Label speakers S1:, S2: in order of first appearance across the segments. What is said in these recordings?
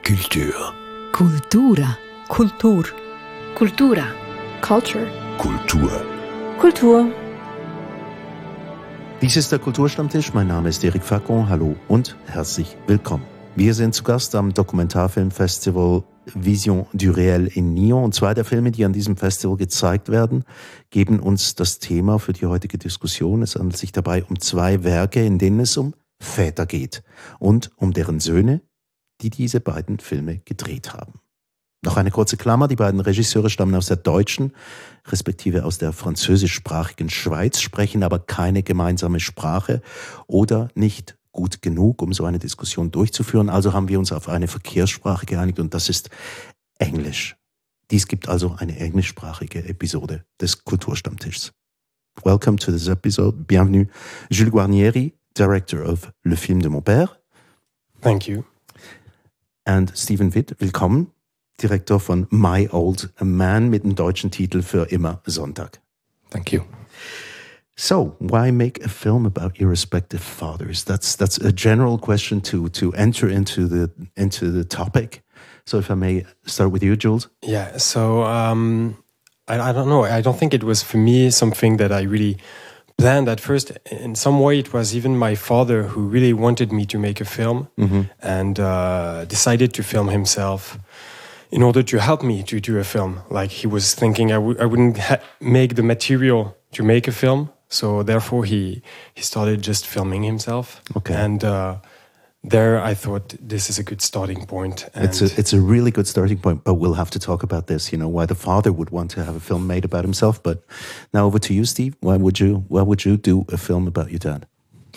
S1: Culture.
S2: Cultura.
S3: Kultur.
S4: Cultura.
S3: Culture.
S1: Kultur.
S3: Kultur.
S5: Dies ist der Kulturstammtisch. Mein Name ist Eric Facon. Hallo und herzlich willkommen. Wir sind zu Gast am Dokumentarfilmfestival Vision du Réel in Nyon. Und zwei der Filme, die an diesem Festival gezeigt werden, geben uns das Thema für die heutige Diskussion. Es handelt sich dabei um zwei Werke, in denen es um Väter geht und um deren Söhne, die diese beiden Filme gedreht haben. Noch eine kurze Klammer, die beiden Regisseure stammen aus der deutschen, respektive aus der französischsprachigen Schweiz, sprechen aber keine gemeinsame Sprache oder nicht gut genug, um so eine Diskussion durchzuführen. Also haben wir uns auf eine Verkehrssprache geeinigt und das ist Englisch. Dies gibt also eine englischsprachige Episode des Kulturstammtischs. Welcome to this episode. Bienvenue. Jules Guarnieri, director of Le Film de mon Père.
S6: Thank you.
S5: And Steven Witt, willkommen. Direktor von My Old Man mit dem deutschen Titel Für immer Sonntag.
S6: Thank you.
S5: So, why make a film about your respective fathers? That's a general question to enter into the topic. So, if I may start with you, Jules.
S6: Yeah. So I don't know. I don't think it was for me something that I really planned at first. In some way, it was even my father who really wanted me to make a film and decided to film himself in order to help me to do a film. Like he was thinking I wouldn't make the material to make a film. So therefore he started just filming himself.
S5: Okay.
S6: And there I thought this is a good starting point. And
S5: It's a really good starting point, but we'll have to talk about this, why the father would want to have a film made about himself. But now over to you, Steve. Why would you do a film about your dad?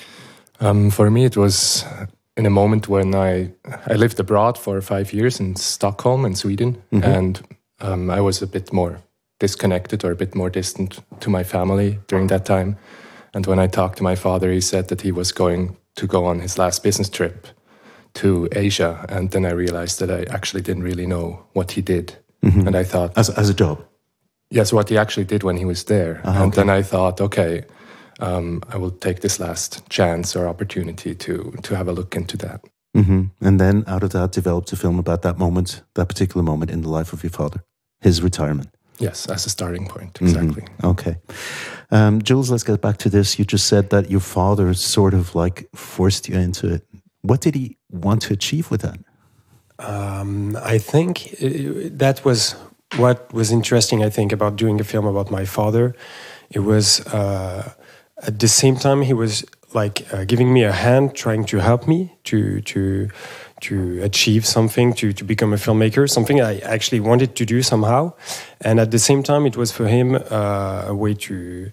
S7: For me, it was in a moment when I lived abroad for 5 years in Stockholm in Sweden, and I was a bit more disconnected or a bit more distant to my family during that time. And when I talked to my father, he said that he was going to go on his last business trip to Asia. And then I realized that I actually didn't really know what he did. And I thought...
S5: As a job?
S7: Yes, what he actually did when he was there. And then I thought, okay, I will take this last chance or opportunity to have a look into that.
S5: And then out of that developed a film about that moment, that particular moment in the life of your father, his retirement.
S7: Yes, as a starting point, exactly.
S5: Okay. Jules, let's get back to this. You just said that your father sort of like forced you into it. What did he want to achieve with that?
S6: I think that was what was interesting, I think, about doing a film about my father. It was, at the same time, he was like giving me a hand, trying to help me to achieve something, to become a filmmaker, something I actually wanted to do somehow. And at the same time, it was for him a way to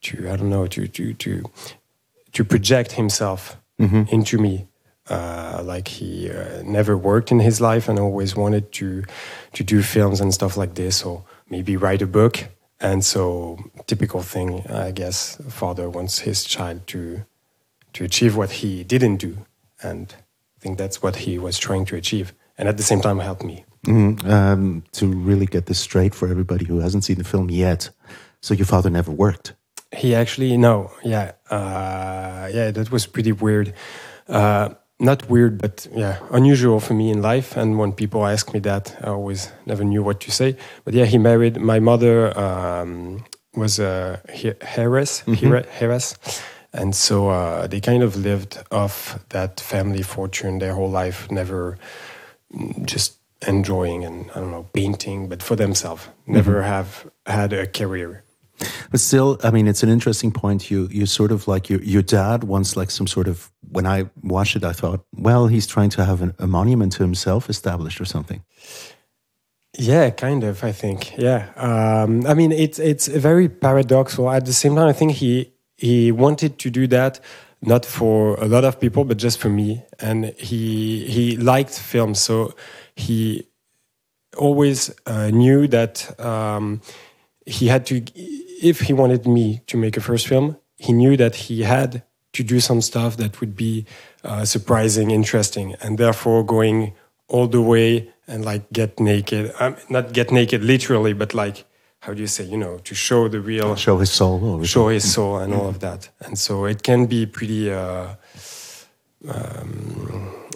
S6: project himself into me. Like he never worked in his life and always wanted to do films and stuff like this, or maybe write a book. And so, typical thing, I guess, a father wants his child to achieve what he didn't do. And I think that's what he was trying to achieve. And at the same time, help me.
S5: To really get this straight for everybody who hasn't seen the film yet. So your father never worked?
S6: He actually, no. Yeah. That was pretty weird. Not weird, but unusual for me in life. And when people ask me that, I always never knew what to say. But yeah, he married. My mother was a heiress. And so they kind of lived off that family fortune their whole life, never just enjoying and, I don't know, painting, but for themselves. Never have had a career.
S5: But still, I mean, it's an interesting point. You sort of like your dad wants like some sort of, when I watched it, I thought, well, he's trying to have a monument to himself established or something.
S6: Yeah, kind of, I think. Yeah. I mean, it's very paradoxical. At the same time, I think he wanted to do that, not for a lot of people, but just for me. And he liked films, so he always knew that he had to, if he wanted me to make a first film, he knew that he had to do some stuff that would be surprising, interesting, and therefore going all the way and like get naked. Not get naked literally, but like, how do you say, to show the real...
S5: Show his soul.
S6: Show his soul and all of that. And so it can be pretty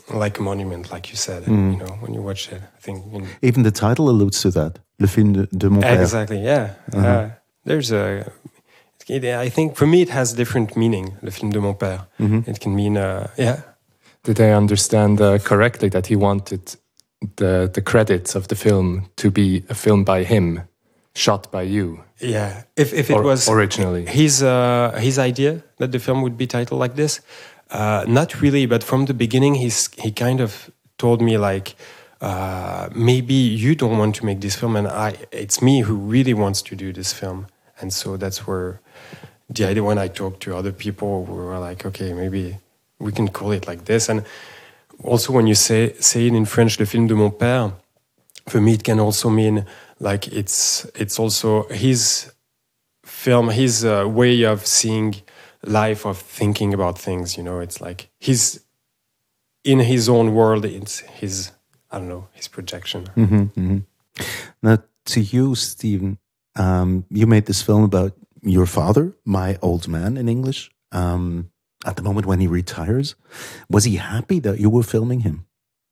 S6: like a monument, like you said. You know, when you watch it, I think
S5: even the title alludes to that. Le film de mon père.
S6: Exactly. Yeah. There's a. I think for me it has different meaning. Le film de mon père. It can mean
S7: Did I understand correctly that he wanted the credits of the film to be a film by him, shot by you?
S6: Yeah. If it was
S7: originally
S6: his idea that the film would be titled like this, not really. But from the beginning, he kind of told me like, maybe you don't want to make this film, and it's me who really wants to do this film. And so that's where the idea. When I talked to other people, we were like, okay, maybe we can call it like this. And also, when you say it in French, le film de mon père, for me it can also mean like it's also his film, his way of seeing life, of thinking about things. You know, it's like he's in his own world. It's his, I don't know, his projection.
S5: Now, to you, Steven, you made this film about your father, my old man in English. At the moment when he retires, was he happy that you were filming him?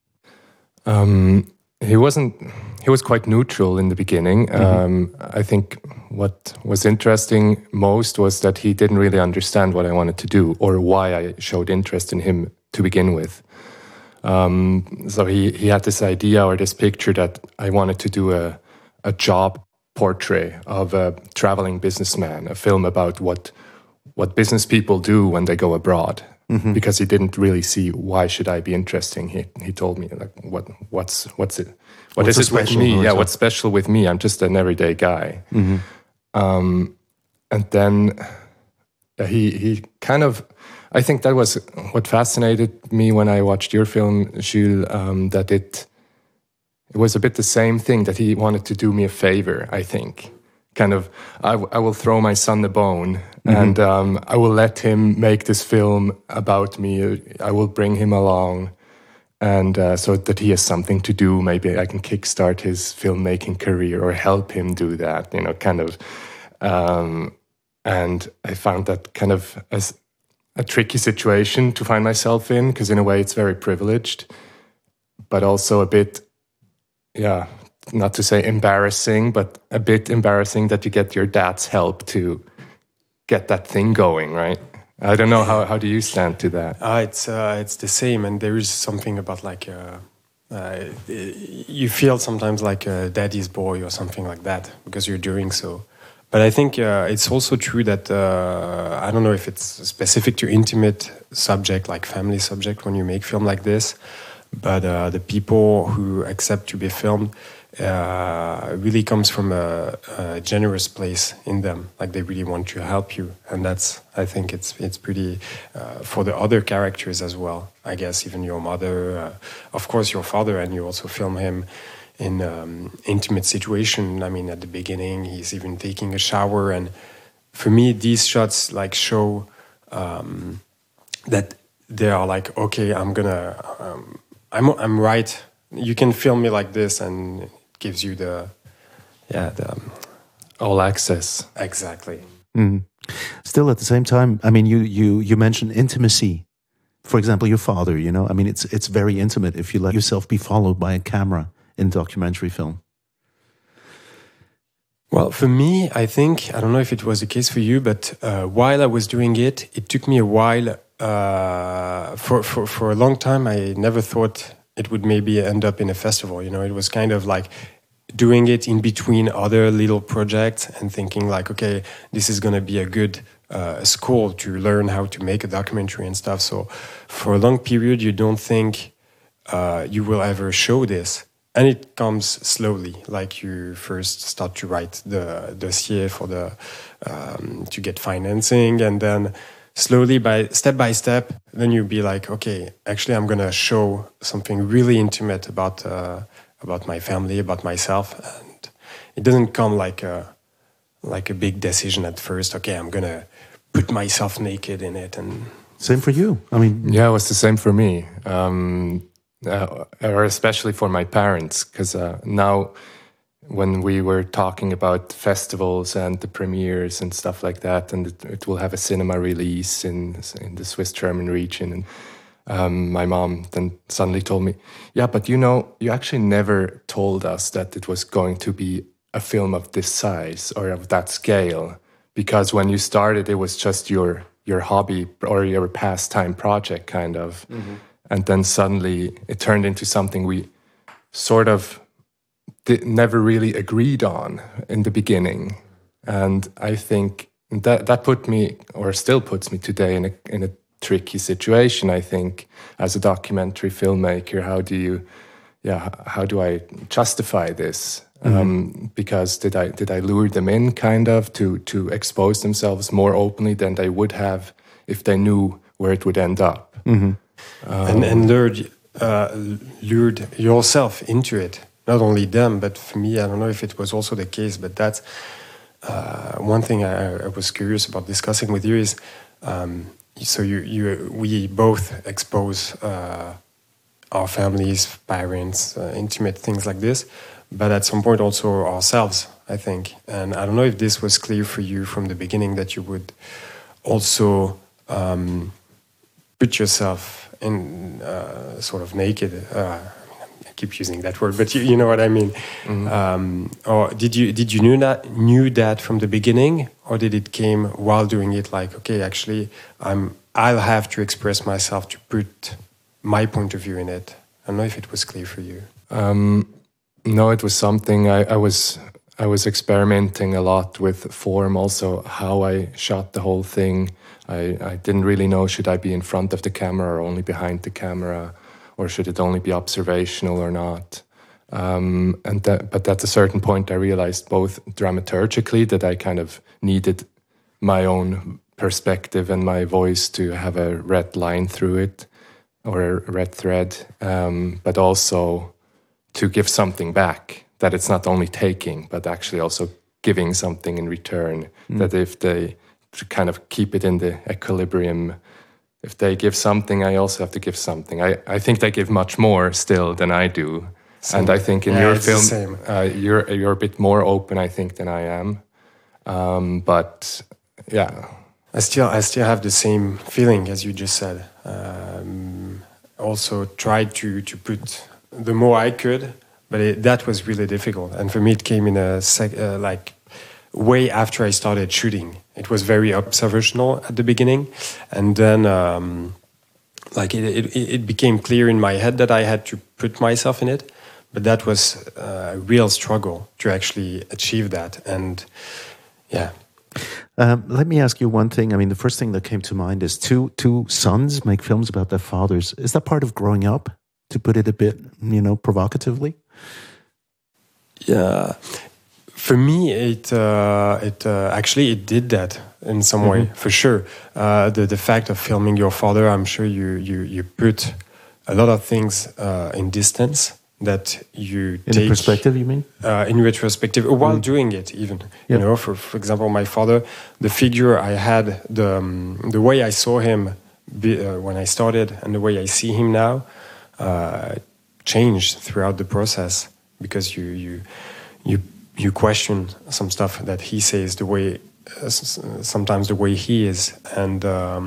S7: He wasn't. He was quite neutral in the beginning. I think what was interesting most was that he didn't really understand what I wanted to do or why I showed interest in him to begin with. So he had this idea or this picture that I wanted to do a job portrait of a traveling businessman, a film about what business people do when they go abroad. Because he didn't really see why should I be interesting. He told me like what's it? What is it with me? Yeah, what's special with me? I'm just an everyday guy. And then he kind of, I think that was what fascinated me when I watched your film, Jules. That it was a bit the same thing, that he wanted to do me a favor. I think. Kind of, I will throw my son the bone, and I will let him make this film about me. I will bring him along, and so that he has something to do. Maybe I can kickstart his filmmaking career or help him do that. You know, kind of. And I found that kind of as a tricky situation to find myself in, because in a way it's very privileged, but also a bit, not to say embarrassing, but a bit embarrassing that you get your dad's help to get that thing going, right? I don't know, how do you stand to that?
S6: It's the same, and there is something about like you feel sometimes like a daddy's boy or something like that because you're doing so. But I think it's also true that I don't know if it's specific to intimate subject like family subject when you make film like this, but the people who accept to be filmed really comes from a generous place in them, like they really want to help you, and that's, I think it's pretty for the other characters as well. I guess even your mother, of course your father, and you also film him in intimate situation. I mean, at the beginning he's even taking a shower, and for me these shots like show that they are like, okay, I'm right. You can film me like this, and it gives you the
S7: all access.
S6: Exactly.
S5: Still, at the same time, I mean, you mentioned intimacy. For example, your father. You know, I mean, it's very intimate if you let yourself be followed by a camera in documentary film.
S6: Well, for me, I think, I don't know if it was the case for you, but while I was doing it, it took me a while. For a long time, I never thought it would maybe end up in a festival. You know, it was kind of like doing it in between other little projects and thinking like, okay, this is going to be a good school to learn how to make a documentary and stuff. So for a long period, you don't think you will ever show this. And it comes slowly, like you first start to write the dossier for to get financing, and then slowly, by step, then you'll be like, okay, actually I'm gonna show something really intimate about my family, about myself, and it doesn't come like a big decision at first. Okay, I'm gonna put myself naked in it, and
S5: same for you. I mean,
S7: yeah, it was the same for me. Or especially for my parents, because now when we were talking about festivals and the premieres and stuff like that, and it will have a cinema release in the Swiss-German region, and my mom then suddenly told me, yeah, but you actually never told us that it was going to be a film of this size or of that scale, because when you started, it was just your hobby or your pastime project, kind of. Mm-hmm. And then suddenly it turned into something we sort of never really agreed on in the beginning. And I think that put me, or still puts me today, in a tricky situation, I think, as a documentary filmmaker. How do I justify this? Mm-hmm. Because did I lure them in, kind of, to expose themselves more openly than they would have if they knew where it would end up?
S6: Mm-hmm. And lured yourself into it. Not only them, but for me, I don't know if it was also the case, but that's one thing I was curious about discussing with you is, so we both expose our families, parents, intimate things like this, but at some point also ourselves, I think. And I don't know if this was clear for you from the beginning, that you would also put yourself in sort of naked. I keep using that word, but you know what I mean. Mm-hmm. Or did you knew that from the beginning, or did it came while doing it? Like, okay, actually, I'll have to express myself to put my point of view in it. I don't know if it was clear for you.
S7: No, it was something I was experimenting a lot with form, also how I shot the whole thing. I didn't really know, should I be in front of the camera or only behind the camera, or should it only be observational or not? But at a certain point, I realized both dramaturgically that I kind of needed my own perspective and my voice to have a red line through it, or a red thread, but also to give something back, that it's not only taking, but actually also giving something in return. That if they to kind of keep it in the equilibrium, if they give something, I also have to give something. I think they give much more still than I do. Same. And I think in your film, you're a bit more open, I think, than I am. But yeah,
S6: I still have the same feeling as you just said. Also tried to put the more I could, but that was really difficult. And for me, it came in a way after I started shooting. It was very observational at the beginning, and then it became clear in my head that I had to put myself in it. But that was a real struggle to actually achieve that. And yeah.
S5: Let me ask you one thing. I mean, the first thing that came to mind is two sons make films about their fathers. Is that part of growing up, to put it a bit, provocatively?
S6: Yeah. For me, it actually did that in some way, for sure. The fact of filming your father, I'm sure you put a lot of things in distance that you take...
S5: In perspective, you mean?
S6: In retrospective, while doing it even. Yep. For example, my father, the figure I had, the way I saw him when I started and the way I see him now changed throughout the process, because you question some stuff that he says, the way sometimes the way he is, and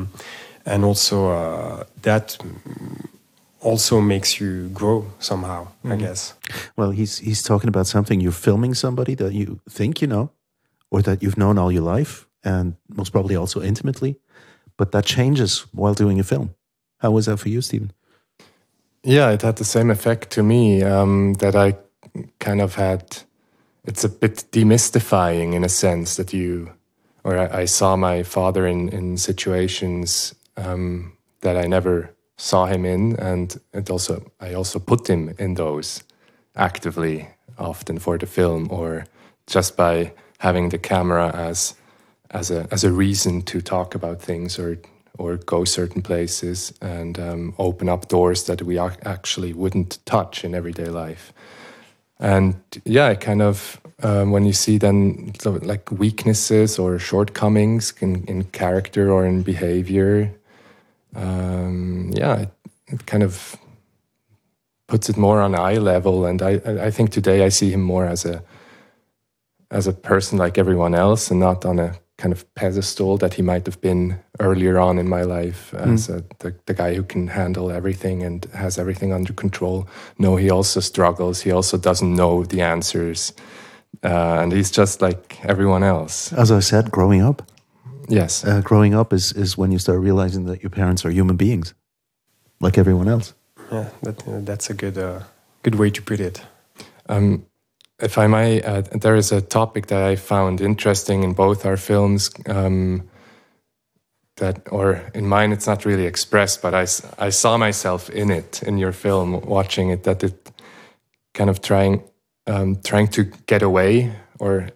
S6: also that also makes you grow somehow, I guess.
S5: Well, he's talking about something. You're filming somebody that you think you know, or that you've known all your life, and most probably also intimately, but that changes while doing a film. How was that for you, Stephen?
S7: Yeah, it had the same effect to me, that I kind of had. It's a bit demystifying in a sense that I saw my father in situations that I never saw him in, and I also put him in those actively, often for the film, or just by having the camera as a reason to talk about things or go certain places and open up doors that we actually wouldn't touch in everyday life. And yeah, it kind of when you see then like weaknesses or shortcomings in character or in behavior, it kind of puts it more on eye level. And I think today I see him more as a person like everyone else, and not on a kind of pedestal that he might have been earlier on in my life as the guy who can handle everything and has everything under control. No, he also struggles. He also doesn't know the answers. And he's just like everyone else.
S5: As I said, growing up.
S7: Yes.
S5: Growing up is when you start realizing that your parents are human beings, like everyone else.
S6: Yeah, that's a good way to put it.
S7: If I may, there is a topic that I found interesting in both our films. Or in mine, it's not really expressed, but I saw myself in it in your film, watching it. That it kind of trying to get away or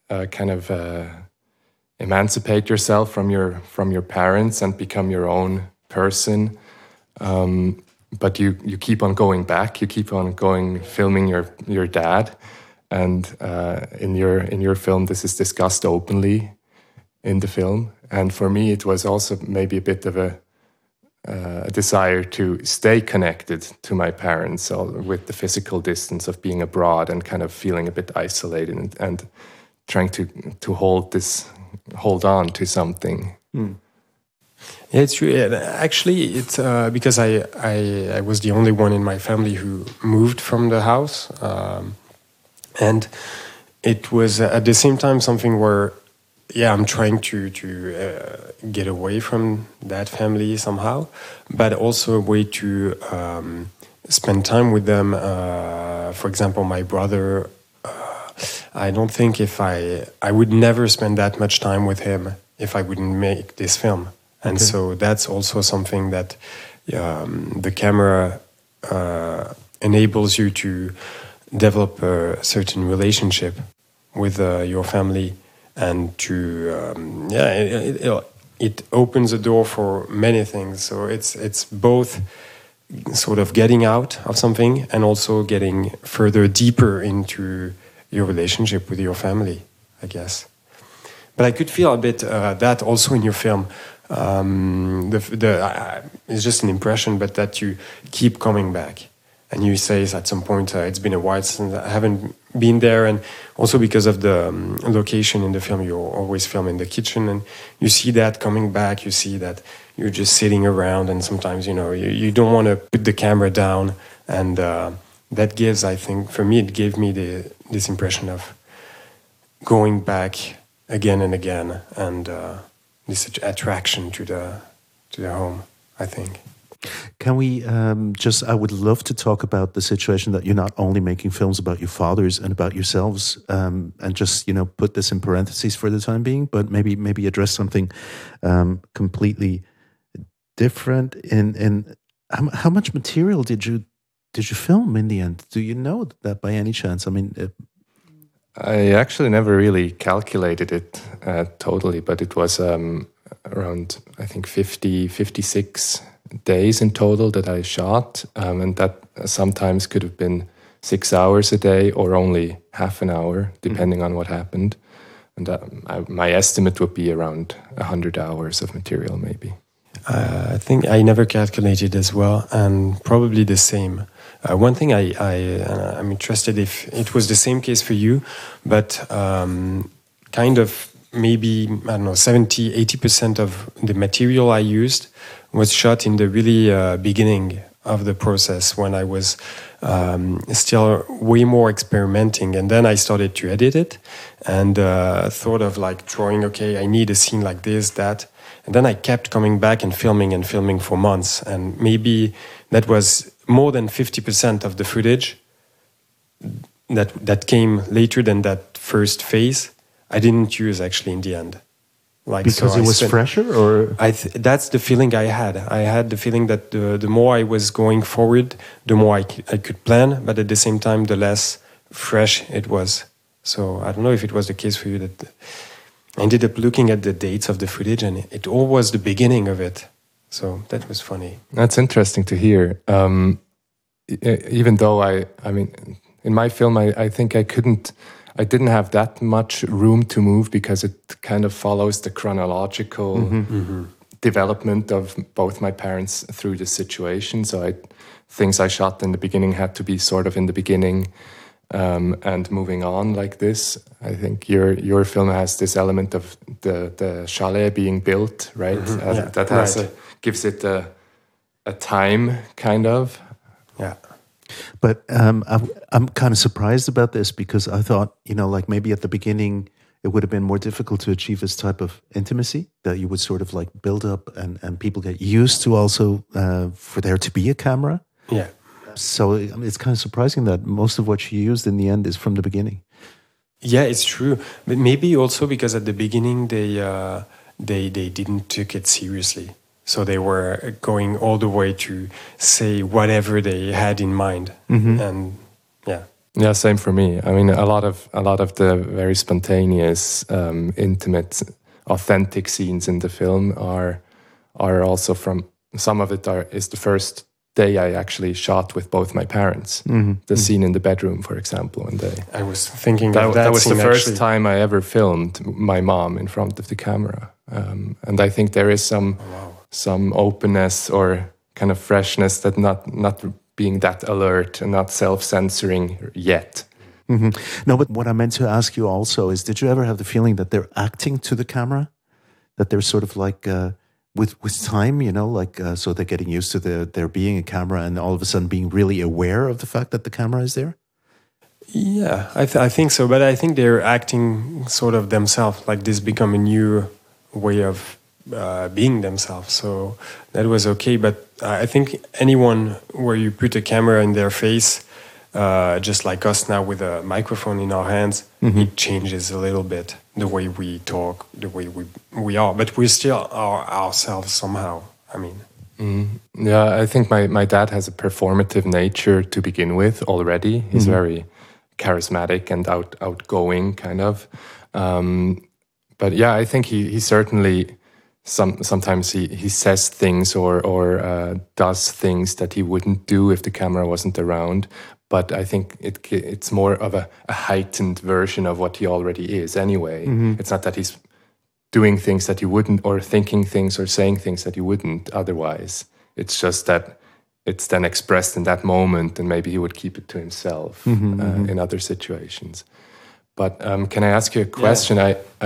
S7: emancipate yourself from your parents and become your own person. But you keep on going back. You keep on filming your dad. And in your film, this is discussed openly in the film. And for me, it was also maybe a bit of a desire to stay connected to my parents with the physical distance of being abroad and kind of feeling a bit isolated and trying to hold on to something.
S6: Yeah, it's true. Actually, it's because I was the only one in my family who moved from the house. And it was at the same time something where, I'm trying to get away from that family somehow, but also a way to spend time with them. For example, my brother, I don't think I would never spend that much time with him if I wouldn't make this film. And so that's also something that the camera enables you to develop a certain relationship with your family, and to it opens a door for many things. So it's both sort of getting out of something and also getting further deeper into your relationship with your family, I guess. But I could feel a bit that also in your film. It's just an impression, but that you keep coming back. And you say at some point, it's been a while since I haven't been there. And also because of the location in the film, you always film in the kitchen. And you see that coming back. You see that you're just sitting around. And sometimes, you don't want to put the camera down. And that gives, I think, for me, it gave me this impression of going back again and again. And this attraction to the home, I think.
S5: Can we I would love to talk about the situation that you're not only making films about your fathers and about yourselves, and just, put this in parentheses for the time being, but maybe address something completely different. In how much material did you film in the end? Do you know that by any chance? I mean,
S7: I actually never really calculated it totally, but it was around, I think, 56 days in total that I shot, and that sometimes could have been 6 hours a day or only half an hour, depending on what happened. And my estimate would be around 100 hours of material, maybe.
S6: I think I never calculated as well, and probably the same. One thing I'm interested if it was the same case for you, but kind of maybe, 70, 80% of the material I used was shot in the really beginning of the process, when I was still way more experimenting. And then I started to edit it and thought of drawing, I need a scene like this, that. And then I kept coming back and filming for months. And maybe that was more than 50% of the footage that came later than that first phase. I didn't use actually in the end.
S5: Because it was fresher, or
S6: that's the feeling I had. I had the feeling that the more I was going forward, the more I could plan, but at the same time, the less fresh it was. So I don't know if it was the case for you. That I ended up looking at the dates of the footage, and it all was the beginning of it. So that was funny.
S7: That's interesting to hear. Even though I mean, in my film, I think I didn't have that much room to move, because it kind of follows the chronological development of both my parents through the situation. So things I shot in the beginning had to be sort of in the beginning, and moving on like this. I think your film has this element of the chalet being built, right? That has gives it a time, kind of.
S6: Yeah.
S5: But I'm kind of surprised about this because I thought, like maybe at the beginning it would have been more difficult to achieve this type of intimacy that you would sort of like build up and people get used to also for there to be a camera.
S6: Yeah.
S5: So it's kind of surprising that most of what she used in the end is from the beginning.
S6: Yeah, it's true. But maybe also because at the beginning they didn't take it seriously. So they were going all the way to say whatever they had in mind. And yeah.
S7: Yeah, same for me. I mean, a lot of the very spontaneous, intimate, authentic scenes in the film are also from, some of it is the first day I actually shot with both my parents. The scene in the bedroom, for example, when
S6: I was thinking
S7: that was the first time I ever filmed my mom in front of the camera, and I think there is some openness or kind of freshness that not being that alert and not self-censoring yet.
S5: No, but what I meant to ask you also is, did you ever have the feeling that they're acting to the camera, that they're sort of like with time, so they're getting used to there being a camera and all of a sudden being really aware of the fact that the camera is there?
S6: Yeah, I think so. But I think they're acting sort of themselves, like this become a new way of being themselves. So that was okay. But I think anyone where you put a camera in their face, just like us now with a microphone in our hands, it changes a little bit the way we talk, the way we are. But we still are ourselves somehow. I mean.
S7: Yeah, I think my dad has a performative nature to begin with already. He's very charismatic and outgoing, kind of. But yeah, I think he certainly sometimes he says things or does things that he wouldn't do if the camera wasn't around. But I think it's more of a heightened version of what he already is anyway. It's not that he's doing things that he wouldn't, or thinking things or saying things that he wouldn't otherwise. It's just that it's then expressed in that moment, and maybe he would keep it to himself in other situations. But can I ask you a question?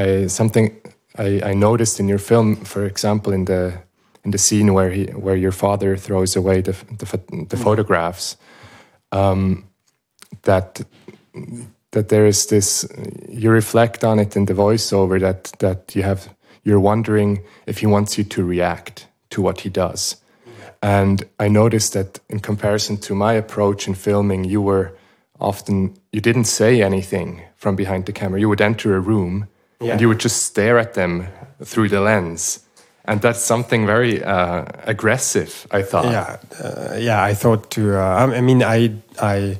S7: Yeah. I noticed in your film, for example, in the scene where your father throws away the photographs, that there is this, you reflect on it in the voiceover that you're wondering if he wants you to react to what he does. And I noticed that in comparison to my approach in filming, you didn't say anything from behind the camera. You would enter a room and you would just stare at them through the lens. And that's something very aggressive, I thought.
S6: Yeah, I thought too. I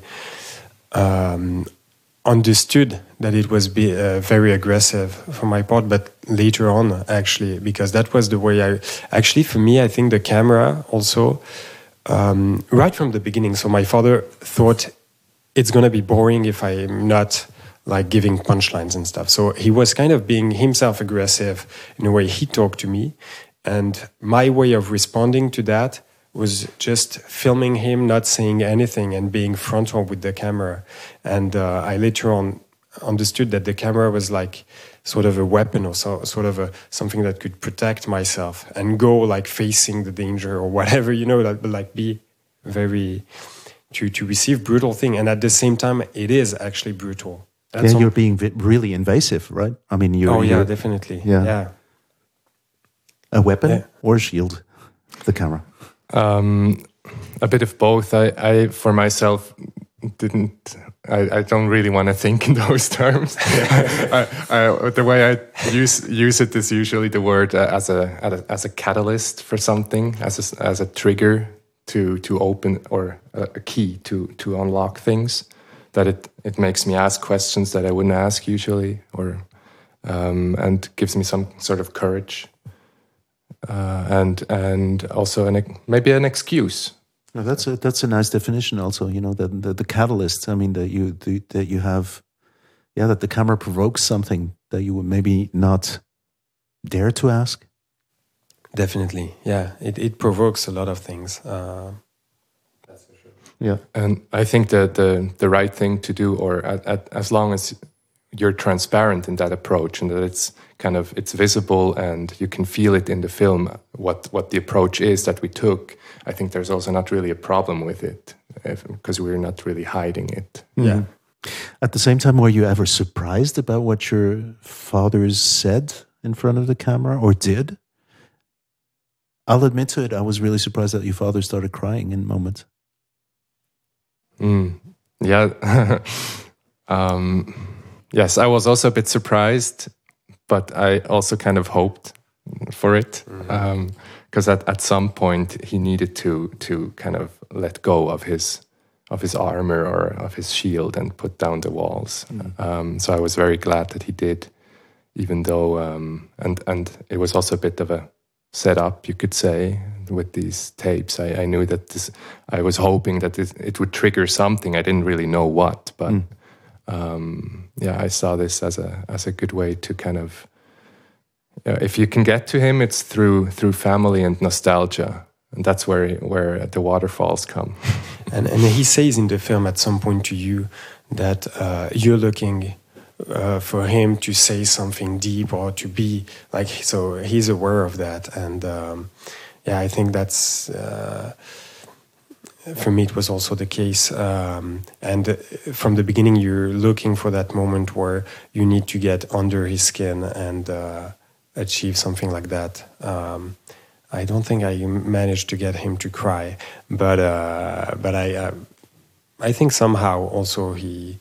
S6: understood that it was very aggressive for my part, but later on, actually, because that was the way for me, I think the camera also, right from the beginning, so my father thought it's going to be boring if I'm not like giving punchlines and stuff. So he was kind of being himself aggressive in the way he talked to me. And my way of responding to that was just filming him, not saying anything, and being frontal with the camera. And I later on understood that the camera was like sort of a weapon, or sort of something that could protect myself and go like facing the danger or whatever, like be very, to receive brutal thing. And at the same time, it is actually brutal.
S5: You're being really invasive, right? I mean, you're
S6: definitely.
S5: Yeah. A weapon or a shield, the camera?
S7: A bit of both. I for myself I don't really want to think in those terms. The way I use it is usually the word as a catalyst for something, as a trigger to open, or a key to unlock things. That it makes me ask questions that I wouldn't ask usually, or and gives me some sort of courage. And also maybe an excuse.
S5: No, that's a nice definition. Also, the catalyst. I mean, that you have, that the camera provokes something that you would maybe not dare to ask.
S6: Definitely, yeah. It provokes a lot of things.
S5: That's for sure. Yeah.
S7: And I think that the right thing to do, or as long as you're transparent in that approach and that it's visible and you can feel it in the film, what the approach is that we took, I think there's also not really a problem with it because we're not really hiding it.
S6: Yeah.
S5: At the same time, were you ever surprised about what your fathers said in front of the camera or did? I'll admit to it, I was really surprised that your father started crying in moments.
S7: Yeah. Yes, I was also a bit surprised, but I also kind of hoped for it because at some point he needed to kind of let go of his armor or of his shield and put down the walls. So I was very glad that he did, even though and it was also a bit of a setup, you could say, with these tapes. I knew that I was hoping that it would trigger something. I didn't really know what, but I saw this as a good way to kind of, if you can get to him, it's through family and nostalgia, and that's where the waterfalls come.
S6: and he says in the film at some point to you that you're looking for him to say something deep or to be like, so he's aware of that, and I think that's for me it was also the case, and from the beginning you're looking for that moment where you need to get under his skin and achieve something like that. I don't think I managed to get him to cry, but I think somehow also he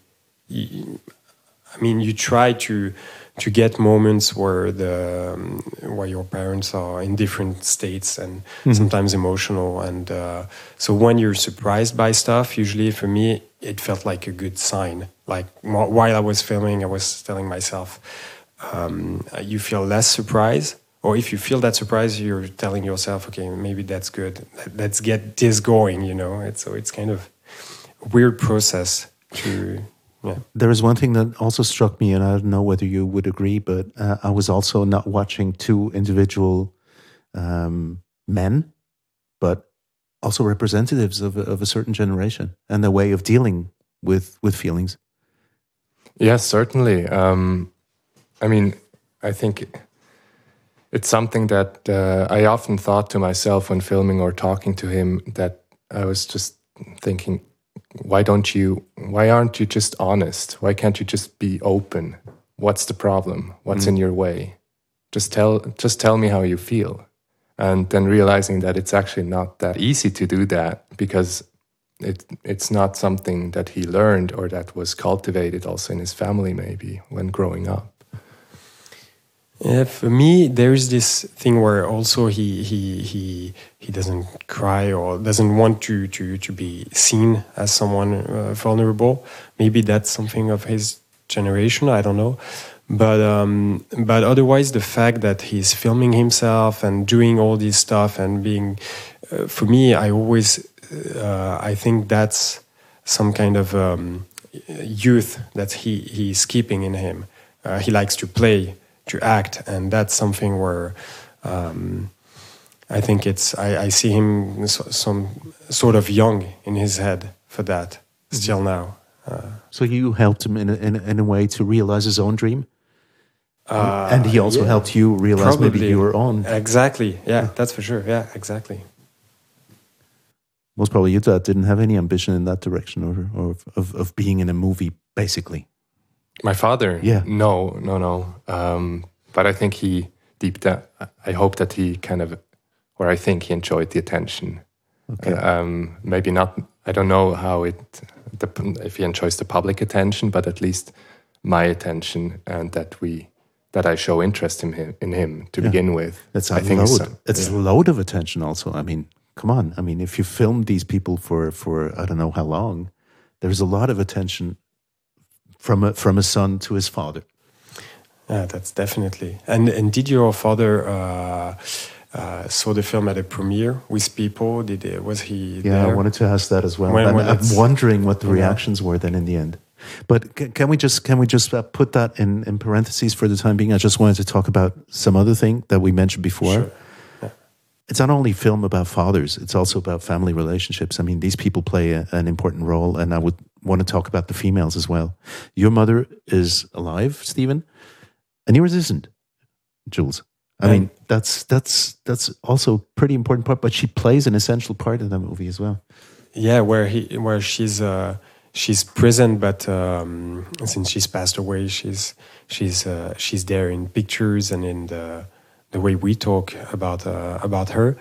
S6: I mean, you try to get moments where your parents are in different states and sometimes emotional, and so when you're surprised by stuff, usually for me it felt like a good sign. Like while I was filming, I was telling myself, you feel less surprise, or if you feel that surprise, you're telling yourself, okay, maybe that's good. Let's get this going. It's kind of a weird process to. Yeah.
S5: There is one thing that also struck me, and I don't know whether you would agree, but I was also not watching two individual men, but also representatives of a certain generation and their way of dealing with feelings.
S7: Yes, certainly. I mean, I think it's something that I often thought to myself when filming or talking to him, that I was just thinking, why aren't you just honest? Why can't you just be open? What's the problem? What's in your way? Just tell me how you feel. And then realizing that it's actually not that easy to do that, because it's not something that he learned or that was cultivated also in his family maybe when growing up.
S6: Yeah, for me, there is this thing where also he doesn't cry or doesn't want to be seen as someone vulnerable. Maybe that's something of his generation. I don't know, but otherwise, the fact that he's filming himself and doing all this stuff and being, for me, I think that's some kind of youth that he's keeping in him. He likes to play, to act, and that's something where I think I see him some sort of young in his head for that still now.
S5: So you helped him in a way to realize his own dream, and he also helped you realize maybe your own.
S6: Exactly, yeah, that's for sure. Yeah, exactly.
S5: Most probably your dad didn't have any ambition in that direction, or of being in a movie, basically.
S7: My father?
S5: Yeah.
S7: No. But I think he deep down, I hope that he kind of, or I think he enjoyed the attention. Okay. Maybe not, I don't know how if he enjoys the public attention, but at least my attention, and that I show interest in him to begin with.
S5: It's a load of attention also. I mean, come on. I mean, if you film these people for I don't know how long, there's a lot of attention from a son to his father.
S6: Yeah, that's definitely. And did your father saw the film at a premiere with people? Was he there?
S5: Yeah, I wanted to ask that as well. I'm wondering what the reactions were then in the end. But can we just put that in parentheses for the time being? I just wanted to talk about some other thing that we mentioned before.
S6: Sure. Yeah.
S5: it's not only a film about fathers, it's also about family relationships. I mean, these people play an important role, and I would want to talk about the females as well. Your mother is alive, Stephen, and yours isn't, Jules. I mean, that's also a pretty important part, but she plays an essential part in that movie as well.
S6: Yeah, where she's present, but since she's passed away, she's there in pictures and in the way we talk about her.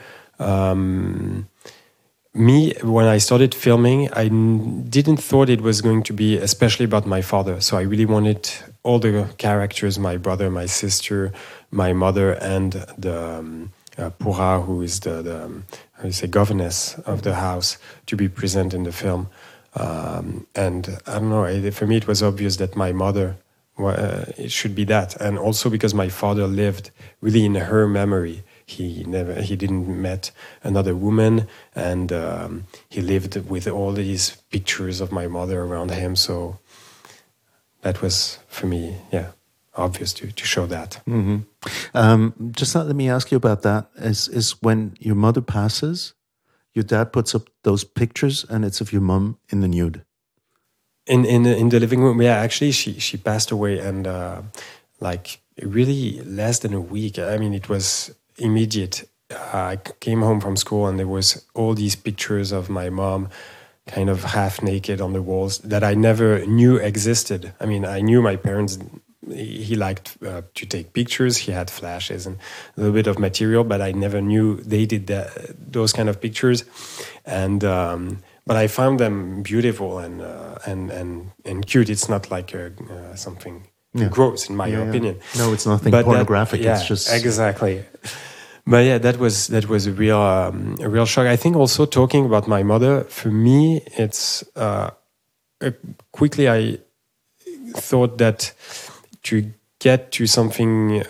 S6: Me, when I started filming, I didn't thought it was going to be especially about my father. So I really wanted all the characters, my brother, my sister, my mother, and the Pura, who is the how you say, governess of the house, to be present in the film. And I don't know, for me it was obvious that my mother, it should be that. And also because my father lived really in her memory. He didn't met another woman, and he lived with all these pictures of my mother around him. So that was, for me, obvious to show that.
S5: Mm-hmm. Just let me ask you about that. Is when your mother passes, your dad puts up those pictures, and it's of your mom in the nude.
S6: In the living room, yeah. Actually, she passed away, and like really less than a week. I mean, it was immediate. I came home from school, and there was all these pictures of my mom, kind of half naked on the walls that I never knew existed. I mean, I knew my parents. He liked to take pictures. He had flashes and a little bit of material, but I never knew they did those kind of pictures. And but I found them beautiful and cute. It's not like something gross, in my opinion.
S5: No, it's nothing pornographic. It's just
S6: exactly. But yeah, that was a real shock. I think also talking about my mother, for me, it's quickly I thought that to get to something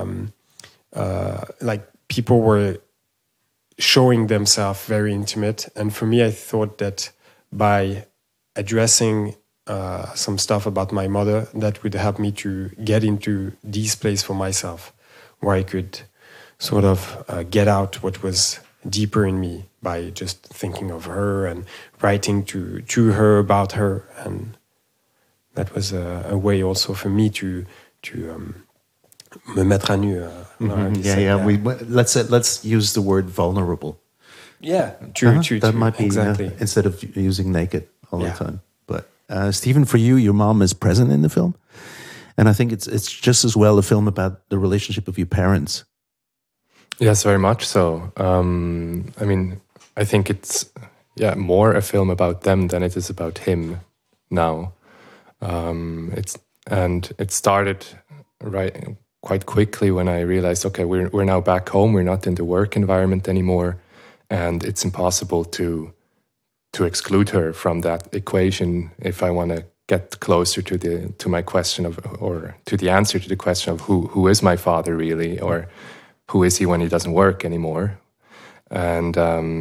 S6: like people were showing themselves very intimate, and for me, I thought that by addressing some stuff about my mother, that would help me to get into this place for myself, where I could sort of get out what was deeper in me by just thinking of her and writing to her about her. And that was a way also for me to me mettre à nu.
S5: Let's use the word vulnerable.
S6: Yeah,
S5: that might be
S6: exactly
S5: instead of using naked all the time. But Stephen, for you, your mom is present in the film, and I think it's just as well a film about the relationship of your parents.
S7: Yes, very much so. I mean, I think it's more a film about them than it is about him now. It started quite quickly when I realized, okay, we're now back home. We're not in the work environment anymore, and it's impossible to exclude her from that equation if I want to get closer to my question or to the answer to the question of who is my father really, or who is he when he doesn't work anymore? And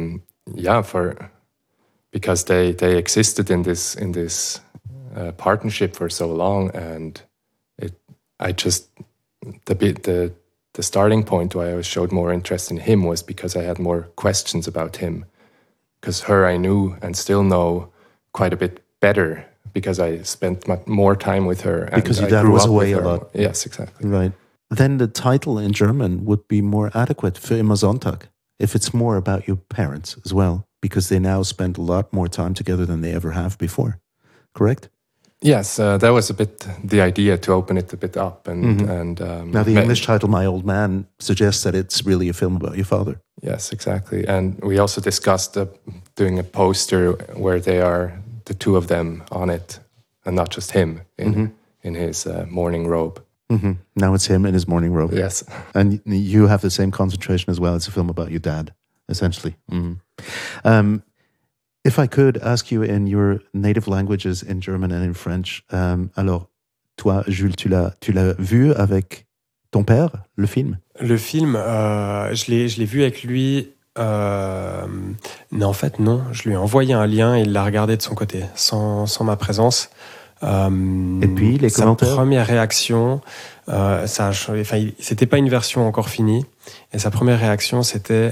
S7: because they existed in this partnership for so long, and the starting point why I showed more interest in him was because I had more questions about him. Because her I knew and still know quite a bit better because I spent more time with her. And
S5: because your dad was away a lot.
S7: Yes, exactly.
S5: Right. Then the title in German would be more adequate, Für immer Sonntag, if it's more about your parents as well, because they now spend a lot more time together than they ever have before. Correct?
S7: Yes, that was a bit the idea, to open it a bit up.
S5: Now the English title, My Old Man, suggests that it's really a film about your father.
S7: Yes, exactly. And we also discussed doing a poster where they are the two of them on it, and not just him in his morning robe.
S5: Mm-hmm. Now it's him in his morning robe.
S7: Yes.
S5: And you have the same concentration as well. It's a film about your dad, essentially. Mm-hmm. If I could ask you in your native languages, in German and in French, alors, toi, Jules, tu l'as vu avec ton père, le film?
S6: Le film, je l'ai vu avec lui. Non, en fait, non. Je lui ai envoyé un lien et il l'a regardé de son côté, sans ma présence.
S5: Et puis, les commentaires?
S6: Sa première réaction, c'était pas une version encore finie. Et sa première réaction, c'était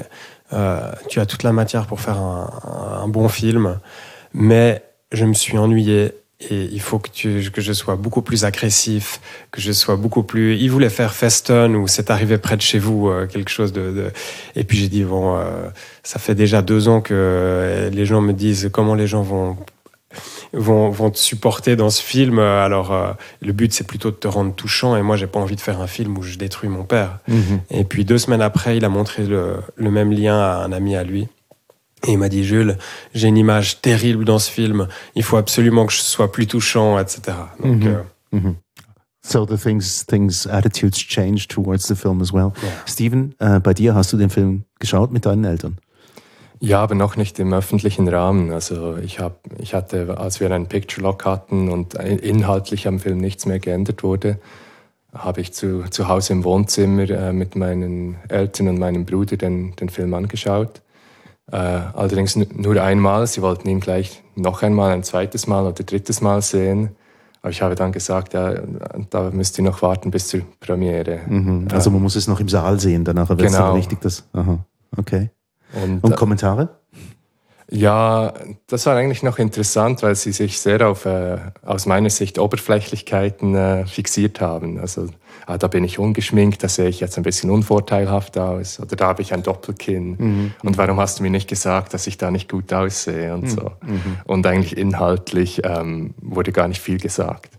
S6: tu as toute la matière pour faire un bon film, mais je me suis ennuyé. Et il faut que je sois beaucoup plus agressif, que je sois beaucoup plus... Il voulait faire Feston ou C'est arrivé près de chez vous, quelque chose de... Et puis j'ai dit, bon, ça fait déjà 2 ans que les gens me disent comment les gens vont te supporter dans ce film. Alors, le but, c'est plutôt de te rendre touchant. Et moi, j'ai pas envie de faire un film où je détruis mon père. Et puis 2 semaines après, il a montré le même lien à un ami à lui. Et il m'a dit, Jules, j'ai une image terrible dans ce film. Il faut absolument que je sois plus touchant, etc. Donc,
S5: So the attitudes change towards the film as well.
S6: Ja.
S5: Steven, bei dir, hast du den Film geschaut mit deinen Eltern?
S7: Ja, aber noch nicht im öffentlichen Rahmen. Also ich hatte, als wir einen Picture Lock hatten und inhaltlich am Film nichts mehr geändert wurde, habe ich zu Hause im Wohnzimmer mit meinen Eltern und meinem Bruder den Film angeschaut. Allerdings nur einmal. Sie wollten ihn gleich noch einmal, ein zweites Mal oder drittes Mal sehen. Aber ich habe dann gesagt, ja, da müsst ihr noch warten bis zur Premiere.
S5: Also man muss es noch im Saal sehen, danach wird es dann richtig das. Aha, okay. Und Kommentare?
S7: Ja, das war eigentlich noch interessant, weil sie sich sehr auf, aus meiner Sicht, Oberflächlichkeiten fixiert haben. Also, da bin ich ungeschminkt, da sehe ich jetzt ein bisschen unvorteilhaft aus. Oder da habe ich ein Doppelkinn. Und warum hast du mir nicht gesagt, dass ich da nicht gut aussehe und so. Und eigentlich inhaltlich wurde gar nicht viel gesagt.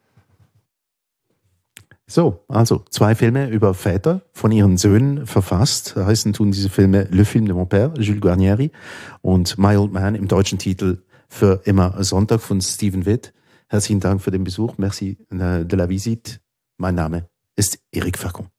S5: So, also 2 Filme über Väter von ihren Söhnen verfasst. Heißen tun diese Filme Le Film de mon Père, Jules Guarnieri, und My Old Man im deutschen Titel Für immer Sonntag von Steven Witt. Herzlichen Dank für den Besuch. Merci de la visite. Mein Name ist Eric Facon.